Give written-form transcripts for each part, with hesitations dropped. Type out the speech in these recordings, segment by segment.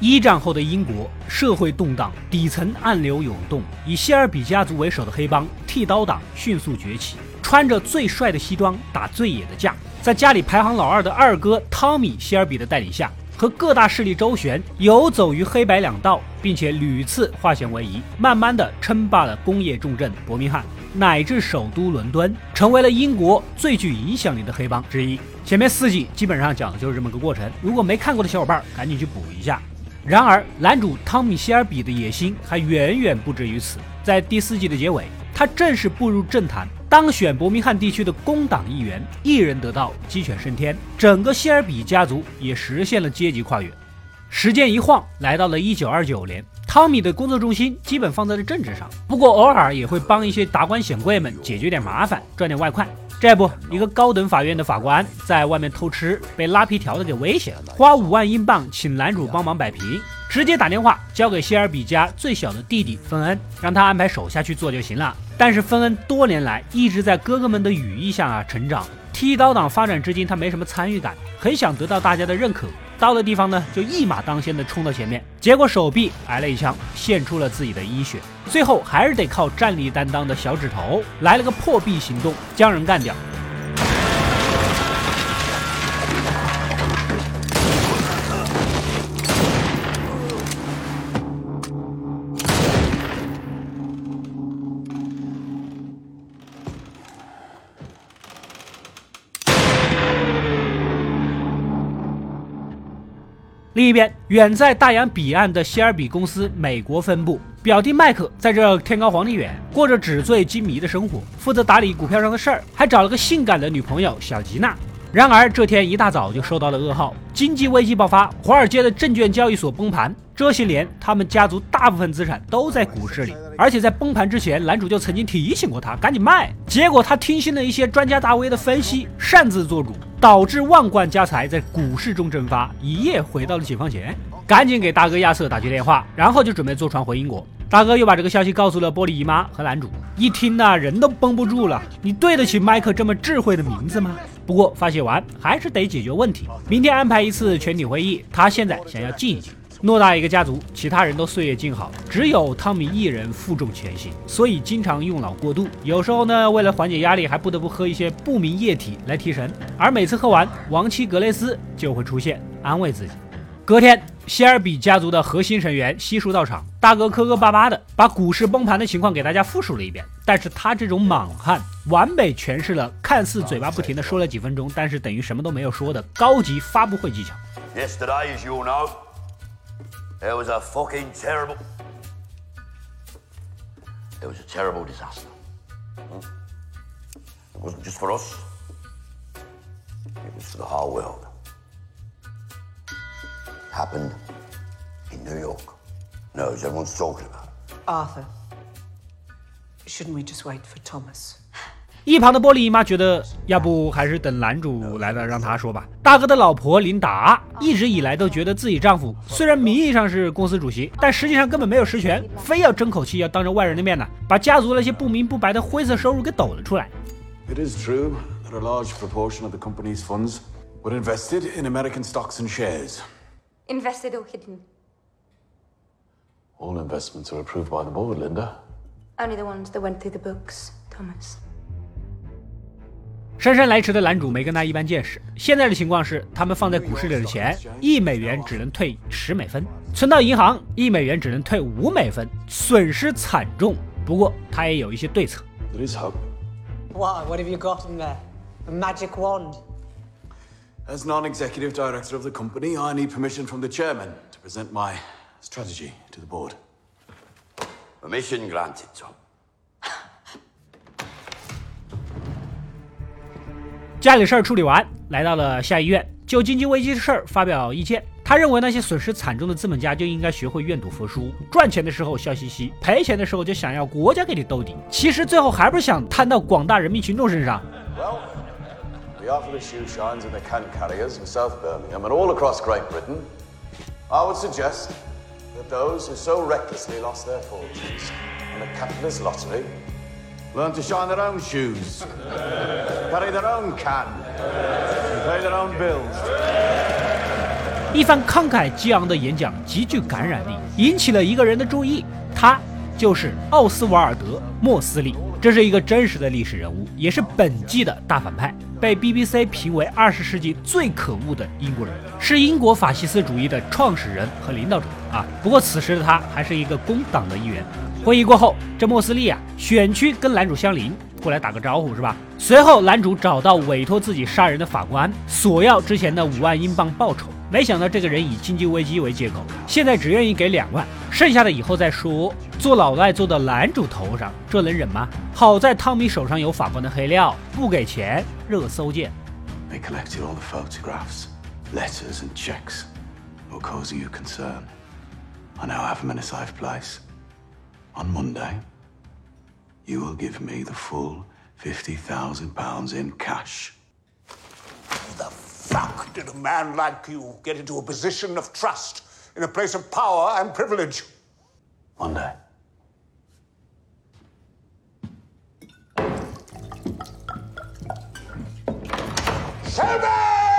一战后的英国社会动荡，底层暗流涌动，以谢尔比家族为首的黑帮剃刀党迅速崛起，穿着最帅的西装，打最野的架，在家里排行老二的二哥汤米·谢尔比的带领下，和各大势力周旋，游走于黑白两道，并且屡次化险为夷，慢慢的称霸了工业重镇伯明翰，乃至首都伦敦，成为了英国最具影响力的黑帮之一。前面4集基本上讲的就是这么个过程，如果没看过的小伙伴赶紧去补一下。然而男主汤米·谢尔比的野心还远远不止于此，在第4季的结尾，他正式步入政坛，当选伯明翰地区的工党议员，一人得道，鸡犬升天，整个谢尔比家族也实现了阶级跨越。时间一晃来到了1929年，汤米的工作重心基本放在了政治上，不过偶尔也会帮一些达官显贵们解决点麻烦，赚点外快。这不，一个高等法院的法官在外面偷吃，被拉皮条的给威胁了，花5万英镑请男主帮忙摆平，直接打电话交给谢尔比家最小的弟弟芬恩，让他安排手下去做就行了。但是芬恩多年来一直在哥哥们的羽翼下成长，剃刀党发展至今他没什么参与感，很想得到大家的认可，到了地方呢就一马当先的冲到前面，结果手臂挨了一枪，献出了自己的医血，最后还是得靠战力担当的小指头来了个破壁行动，将人干掉。另一边，远在大洋彼岸的谢尔比公司美国分部，表弟麦克在这天高皇帝远，过着纸醉金迷的生活，负责打理股票上的事儿，还找了个性感的女朋友小吉娜。然而这天一大早就收到了噩耗，经济危机爆发，华尔街的证券交易所崩盘，这些年他们家族大部分资产都在股市里，而且在崩盘之前，男主就曾经提醒过他赶紧卖，结果他听信了一些专家大 V 的分析，擅自做主，导致万贯家财在股市中蒸发，一夜回到了解放前。赶紧给大哥亚瑟打去电话，然后就准备坐船回英国。大哥又把这个消息告诉了波利姨妈和男主，一听呢人都绷不住了，你对得起麦克这么智慧的名字吗？不过发泄完还是得解决问题，明天安排一次全体会议，他现在想要静一静。偌大一个家族，其他人都岁月静好，只有汤米一人负重前行，所以经常用脑过度，有时候呢为了缓解压力还不得不喝一些不明液体来提神，而每次喝完，亡妻格蕾丝就会出现安慰自己。隔天，谢尔比家族的核心成员悉数到场，大哥磕磕巴巴的把股市崩盘的情况给大家复述了一遍，但是他这种莽汉完美诠释了看似嘴巴不停的说了几分钟，但是等于什么都没有说的高级发布会技巧。 Yesterday, as you all know, there was a fucking terrible... There was a terrible disaster. It wasn't just for us. It was for the whole world. Happened in New York. Knows everyone's talking about it. Arthur, shouldn't we just wait for Thomas? 一旁的波利姨妈觉得，要不还是等男主来了让他说吧。大哥的老婆琳达一直以来都觉得自己丈夫虽然名义上是公司主席，但实际上根本没有实权，非要争口气，要当着外人的面呢，把家族那些不明不白的灰色收入给抖了出来。 It is true that a large proportion of the company's funds were invested in American stocks and shares. Invested or hidden? All investments are approved by the board, Linda. Only the ones that went through the books, Thomas. 姗姗来迟的男主没跟他一般见识。现在的情况是，他们放在股市里的钱，1美元只能退10美分，存到银行1美元只能退5美分，损失惨重。不过他也有一些对策。 There is hope. What have you got in there? A magic wand? As non-executive director of the company, I need permission from the chairman to present my strategy to the board. Permission granted, Tom. 家里事儿处理完，来到了下议院，就经济危机的事儿发表意见。他认为那些损失惨重的资本家就应该学会愿赌服输，赚钱的时候笑嘻嘻，赔钱的时候就想要国家给你兜底。其实最后还不是想摊到广大人民群众身上。 Well, the art of the shoe shines in the can carriers in South Birmingham and all across Great Britain. I would suggest that those who so recklessly lost their fortunes on the capitalist lottery learn to shine their own shoes, carry their own can, and pay their own bills. 一番慷慨激昂的演讲极具感染力，引起了一个人的注意，他就是奥斯瓦尔德·莫斯利。这是一个真实的历史人物，也是本季的大反派，被 BBC 评为20世纪最可恶的英国人，是英国法西斯主义的创始人和领导者啊。不过此时的他还是一个工党的一员。会议过后，这莫斯利啊，选区跟男主相邻，过来打个招呼是吧？随后男主找到委托自己杀人的法官，索要之前的5万英镑报酬。没想到这个人以经济危机为借口，现在只愿意给2万，剩下的以后再说。做老赖做到男主头上，这能忍吗？好在汤米手上有法官的黑料，不给钱热搜见。 They collected all the photographs, letters and checks that were causing you concern. I now have them in a safe place. On Monday, you will give me the full £50,000 in cash. The fuck did a man like you get into a position of trust in a place of power and privilege? Monday. Shelby!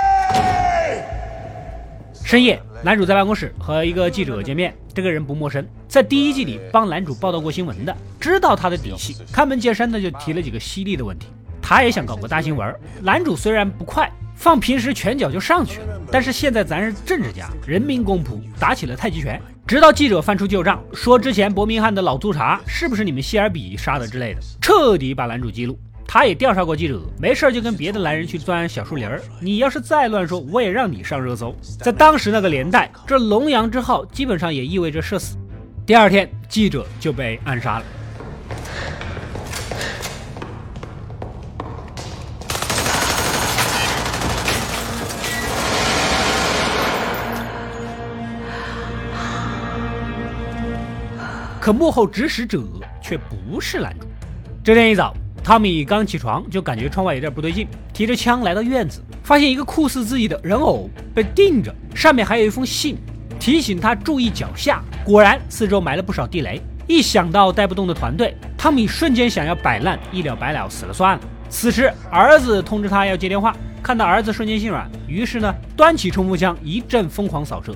深夜，男主在办公室和一个记者见面，这个人不陌生，在第1季里帮男主报道过新闻的，知道他的底细，开门见山的就提了几个犀利的问题。他也想搞个大新闻，男主虽然不快，放平时拳脚就上去了，但是现在咱是政治家，人民公仆，打起了太极拳。直到记者翻出旧账，说之前伯明翰的老督察是不是你们希尔比杀的之类的，彻底把男主激怒。他也调查过记者，没事就跟别的男人去钻小树林儿，你要是再乱说，我也让你上热搜。在当时那个年代，这龙阳之好基本上也意味着社死。第2天，记者就被暗杀了。可幕后指使者却不是男主。这天一早，汤米刚起床就感觉窗外有点不对劲，提着枪来到院子，发现一个酷似自己的人偶被钉着，上面还有一封信，提醒他注意脚下。果然四周埋了不少地雷。一想到带不动的团队，汤米瞬间想要摆烂，一了百了，死了算了。此时儿子通知他要接电话，看到儿子瞬间心软，于是呢端起冲锋枪一阵疯狂扫射。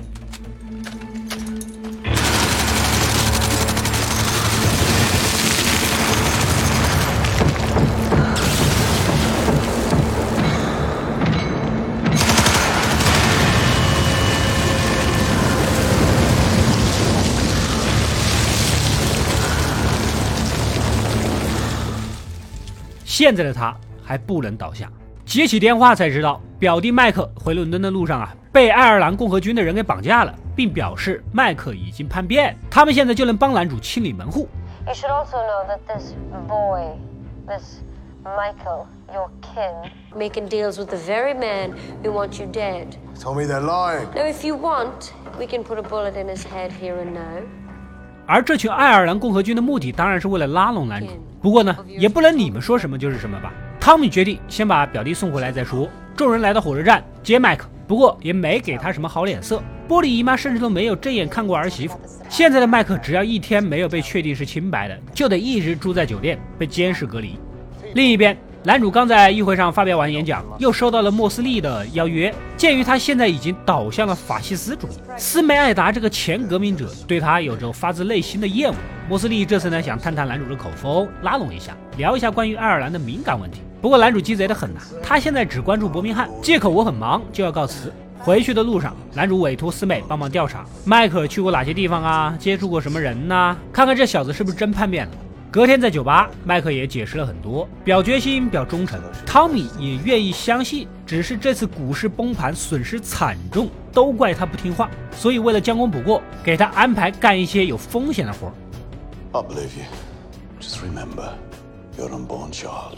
现在的他还不能倒下，接起电话才知道，表弟麦克回伦敦的路上啊，被爱尔兰共和军的人给绑架了，并表示麦克已经叛变，他们现在就能帮男主清理门户。 You should also know that this boy, this Michael, your kin, making deals with the very man who wants you dead. Tell me they're lying. Now, if you want, we can put a bullet in his head here and now. 而这群爱尔兰共和军的目的当然是为了拉拢男主，不过呢，也不能你们说什么就是什么吧。汤米决定先把表弟送回来再说。众人来到火车站接麦克，不过也没给他什么好脸色。波莉姨妈甚至都没有正眼看过儿媳妇。现在的麦克只要一天没有被确定是清白的，就得一直住在酒店，被监视隔离。另一边，男主刚在议会上发表完演讲，又收到了莫斯利的邀约。鉴于他现在已经倒向了法西斯主义，斯梅艾达这个前革命者对他有着发自内心的厌恶。莫斯利这次呢想探探男主的口风，拉拢一下，聊一下关于爱尔兰的敏感问题。不过男主鸡贼得很呐，他现在只关注伯明翰，借口我很忙就要告辞。回去的路上，男主委托师妹帮忙调查迈克去过哪些地方啊，接触过什么人啊，看看这小子是不是真叛变了。隔天在酒吧，麦克也解释了很多，表决心，表忠诚。汤米也愿意相信，只是这次股市崩盘损失惨重，都怪他不听话，所以为了将功补过，给他安排干一些有风险的活。 I'll believe you. Just remember, your unborn child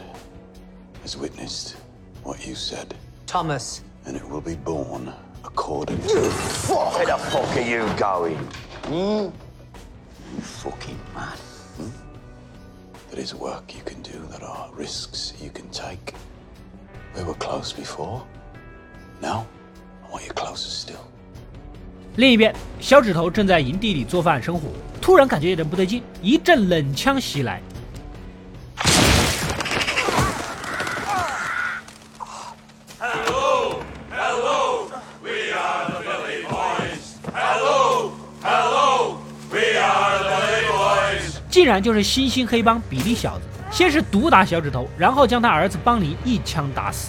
has witnessed what you said. Thomas. And it will be born according to... Where the fuck are you going? You fucking mad. There is work you can do, there are risks you can take. We were close before. Now, I want you closer still. 另一边，小指头正在营地里做饭生火，突然感觉有点不对劲，一阵冷枪袭来。 竟然就是新兴黑帮比利小子。先是毒打小指头，然后将他儿子邦尼一枪打死。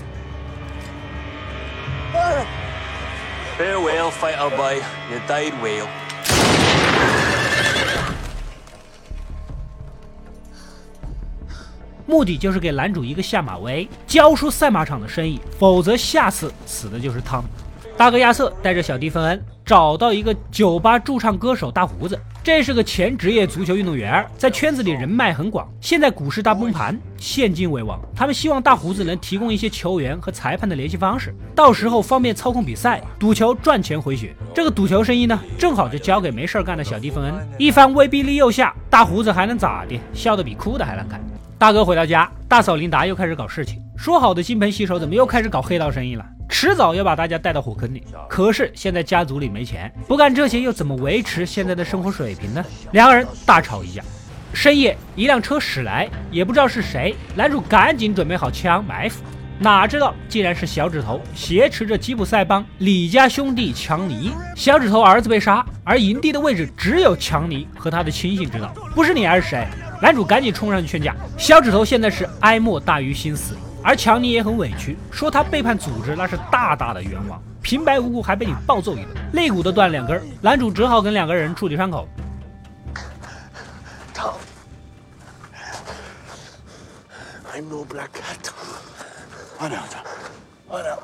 Farewell, fighter boy. You died well. 目的就是给男主一个下马威，交出赛马场的生意，否则下次死的就是汤。大哥亚瑟带着小弟芬恩找到一个酒吧驻唱歌手大胡子，这是个前职业足球运动员，在圈子里人脉很广。现在股市大崩盘，现金为王，他们希望大胡子能提供一些球员和裁判的联系方式，到时候方便操控比赛，赌球赚钱回血。这个赌球生意呢，正好就交给没事干的小弟芬恩。一番威逼利诱下，大胡子还能咋的？笑得比哭的还难看。大哥回到家，大嫂琳达又开始搞事情，说好的金盆洗手怎么又开始搞黑道生意了？迟早要把大家带到火坑里。可是现在家族里没钱，不干这些又怎么维持现在的生活水平呢？两个人大吵一架。深夜，一辆车驶来，也不知道是谁，男主赶紧准备好枪埋伏，哪知道竟然是小指头挟持着吉普赛帮李家兄弟强尼。小指头儿子被杀，而营地的位置只有强尼和他的亲信知道，不是你还是谁？男主赶紧冲上去劝架。小指头现在是哀莫大于心死，而强尼也很委屈，说他背叛组织那是大大的冤枉，平白无故还被你暴揍一顿，肋骨都断2根。男主只好跟2个人处理伤口。 Tom, I'm no black cat. I know, Tom. I know.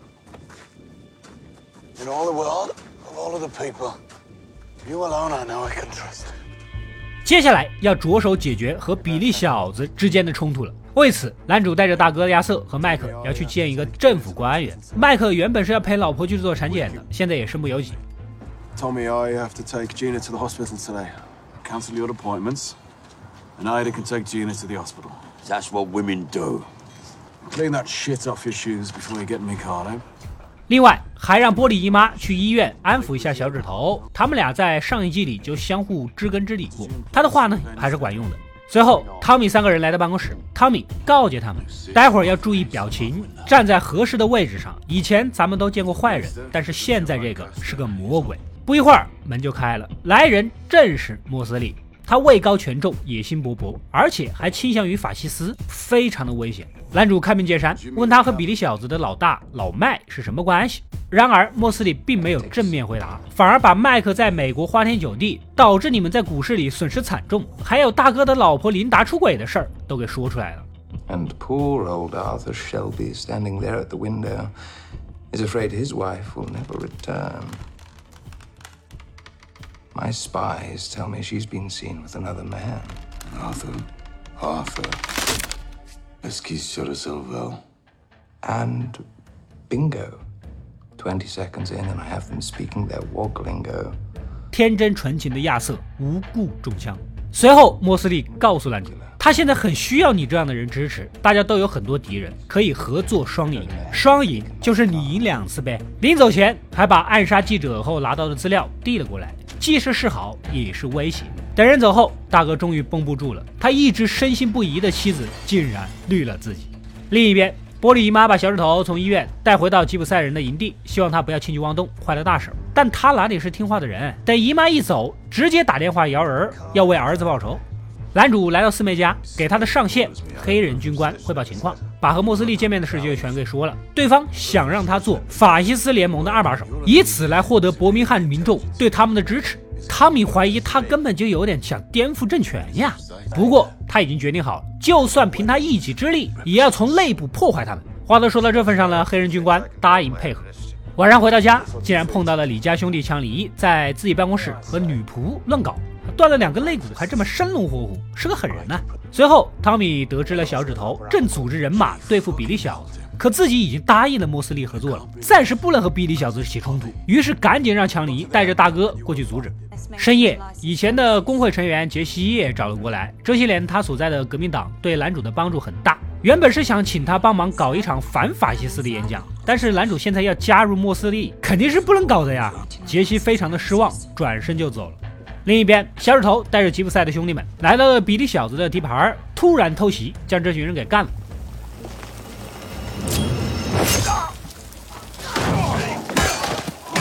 In all the world, of all of the people, you alone I know I can trust. 接下来要着手解决和比利小子之间的冲突了。为此，男主带着大哥亚瑟和麦克要去见一个政府官员。麦克原本是要陪老婆去做产检的，现在也身不由己。 Tommy, I have to take Gina to the hospital today. Cancel your appointments, and Ida can take Gina to the hospital. That's what women do. Clean that shit off your shoes before you get in my car, eh? 另外，还让波利姨妈去医院安抚一下小指头，他们俩在上一季里就相互知根知底过，他的话呢还是管用的。随后，汤米3个人来到办公室，汤米告诫他们，待会儿要注意表情，站在合适的位置上。以前咱们都见过坏人，但是现在这个是个魔鬼。不一会儿，门就开了，来人正是莫斯利。他位高权重，野心勃勃，而且还倾向于法西斯，非常的危险。男主开门见山，问他和比利小子的老大老麦是什么关系。然而莫斯利并没有正面回答，反而把麦克在美国花天酒地，导致你们在股市里损失惨重，还有大哥的老婆琳达出轨的事儿都给说出来了。 And poor old Arthur Shelby, standing there at the window, is afraid his wife will never return. My spies tell me she's been seen with another man. Arthur. Esquisse de Silvo. And bingo. 20 seconds in and I have them speaking their wog lingo. 天真纯情的亚瑟无故中枪。随后莫斯利告诉男主，他现在很需要你这样的人支持，大家都有很多敌人，可以合作双赢。双赢就是你赢2次呗。临走前还把暗杀记者后拿到的资料递了过来，既是示好也是威胁。等人走后，大哥终于绷不住了，他一直深信不疑的妻子竟然绿了自己。另一边，波利姨妈把小指头从医院带回到吉普赛人的营地，希望他不要轻举妄动，坏了大事。但他哪里是听话的人？等姨妈一走，直接打电话摇人，要为儿子报仇。男主来到四妹家，给他的上线黑人军官汇报情况，把和莫斯利见面的事就全给说了。对方想让他做法西斯联盟的2把手，以此来获得伯明翰民众对他们的支持。汤米怀疑他根本就有点想颠覆政权呀。不过他已经决定好了，就算凭他一己之力，也要从内部破坏他们。话都说到这份上了，黑人军官答应配合。晚上回到家，竟然碰到了李家兄弟强尼在自己办公室和女仆乱搞，断了2根肋骨，还这么生龙活虎，是个狠人啊。随后汤米得知了小指头正组织人马对付比利小子，可自己已经答应了莫斯利合作了，暂时不能和比利小子起冲突，于是赶紧让强尼带着大哥过去阻止。深夜，以前的工会成员杰西也找了过来，这些年他所在的革命党对男主的帮助很大，原本是想请他帮忙搞一场反法西斯的演讲，但是男主现在要加入莫斯利，肯定是不能搞的呀。杰西非常的失望，转身就走了。另一边，小指头带着吉普赛的兄弟们来到了比利小子的地盘，突然偷袭，将这群人给干了。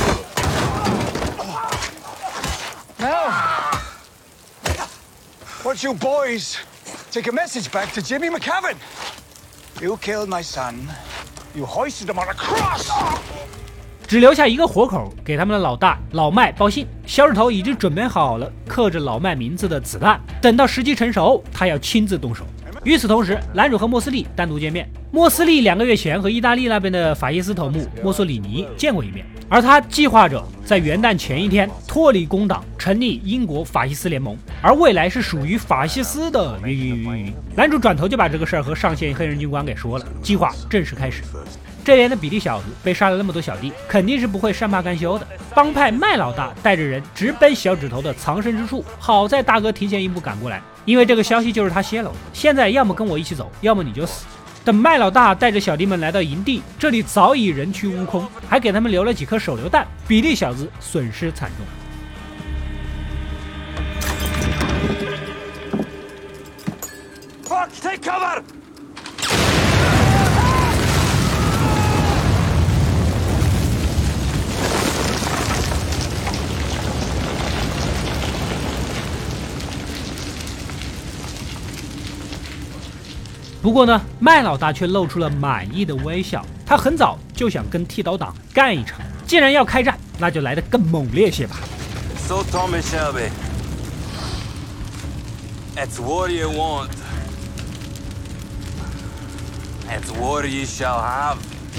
What want you boys take a message back to Jimmy McCavan. You killed my son. You hoisted him on a cross. 只留下一个活口给他们的老大老麦报信，小指头已经准备好了刻着老麦名字的子弹，等到时机成熟，他要亲自动手。与此同时，男主和莫斯利单独见面。莫斯利2个月前和意大利那边的法西斯头目墨索里尼见过一面，而他计划着在元旦前一天脱离工党，成立英国法西斯联盟，而未来是属于法西斯的。男主转头就把这个事儿和上线黑人军官给说了，计划正式开始。这边的比利小子被杀了那么多小弟，肯定是不会善罢甘休的。帮派麦老大带着人直奔小指头的藏身之处，好在大哥提前一步赶过来，因为这个消息就是他泄露的。现在要么跟我一起走，要么你就死。等麦老大带着小弟们来到营地，这里早已人去屋空，还给他们留了几颗手榴弹。比利小子损失惨重。 Fuck, take cover! 不过呢，麦老大却露出了满意的微笑。他很早就想跟剃刀党干一场，既然要开战，那就来得更猛烈些吧。 So Tommy Shelby, it's what you want. It's what you shall have.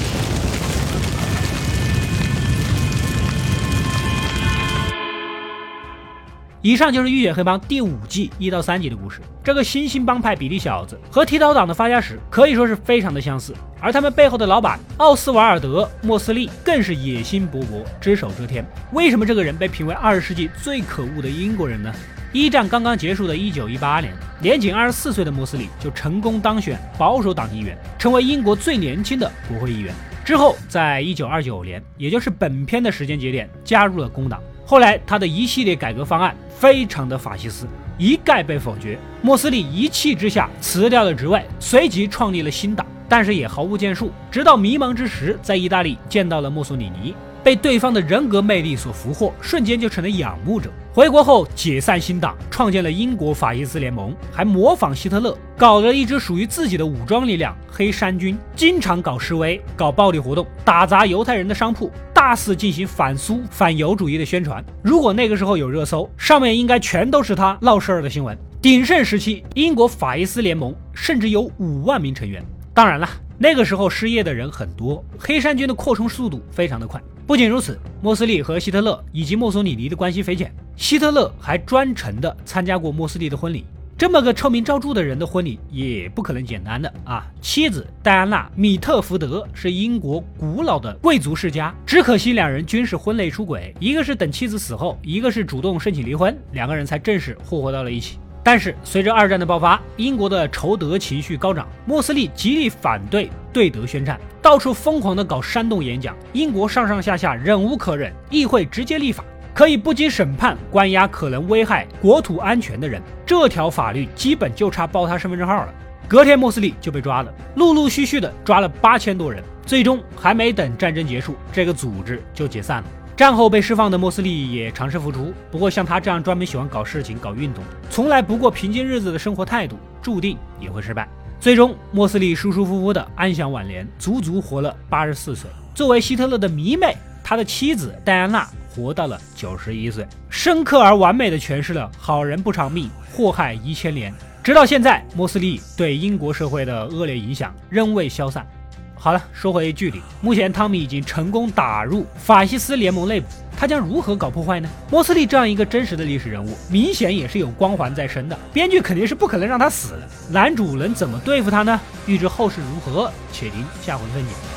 以上就是《浴血黑帮》第5季1到3集的故事。这个新兴帮派比利小子和剃刀党的发家史可以说是非常的相似，而他们背后的老板奥斯瓦尔德·莫斯利更是野心勃勃，只手遮天。为什么这个人被评为20世纪最可恶的英国人呢？一战刚刚结束的1918年，年仅24岁的莫斯利就成功当选保守党议员，成为英国最年轻的国会议员。之后，在1929年，也就是本片的时间节点，加入了工党。后来，他的一系列改革方案非常的法西斯，一概被否决。莫斯利一气之下辞掉了职位，随即创立了新党，但是也毫无建树。直到迷茫之时，在意大利见到了墨索里尼，被对方的人格魅力所俘获，瞬间就成了仰慕者。回国后解散新党，创建了英国法西斯联盟，还模仿希特勒搞了一支属于自己的武装力量黑山军，经常搞示威、搞暴力活动，打砸犹太人的商铺，大肆进行反苏反犹主义的宣传。如果那个时候有热搜，上面应该全都是他闹事儿的新闻。鼎盛时期，英国法西斯联盟甚至有5万名成员。当然了，那个时候失业的人很多，黑山军的扩充速度非常的快。不仅如此，莫斯利和希特勒以及墨索里尼的关系匪浅，希特勒还专程的参加过莫斯利的婚礼。这么个臭名昭著的人的婚礼也不可能简单的啊！妻子戴安娜·米特福德是英国古老的贵族世家，只可惜2人均是婚内出轨，一个是等妻子死后，一个是主动申请离婚，2个人才正式复活到了一起。但是随着2战的爆发，英国的仇德情绪高涨，莫斯利极力反对对德宣战，到处疯狂的搞煽动演讲，英国上上下下忍无可忍，议会直接立法，可以不经审判关押可能危害国土安全的人。这条法律基本就差报他身份证号了。隔天莫斯利就被抓了，陆陆续续的抓了8000多人，最终还没等战争结束，这个组织就解散了。战后被释放的莫斯利也尝试复出，不过像他这样专门喜欢搞事情、搞运动，从来不过平静日子的生活态度，注定也会失败。最终，莫斯利舒舒服服的安享晚年，足足活了84岁。作为希特勒的迷妹，他的妻子戴安娜活到了91岁，深刻而完美的诠释了好人不长命，祸害1000年。直到现在，莫斯利对英国社会的恶劣影响仍未消散。好了，说回剧里，目前汤米已经成功打入法西斯联盟内部，他将如何搞破坏呢？莫斯利这样一个真实的历史人物，明显也是有光环在身的，编剧肯定是不可能让他死的。男主能怎么对付他呢？欲知后事如何，且听下回分解。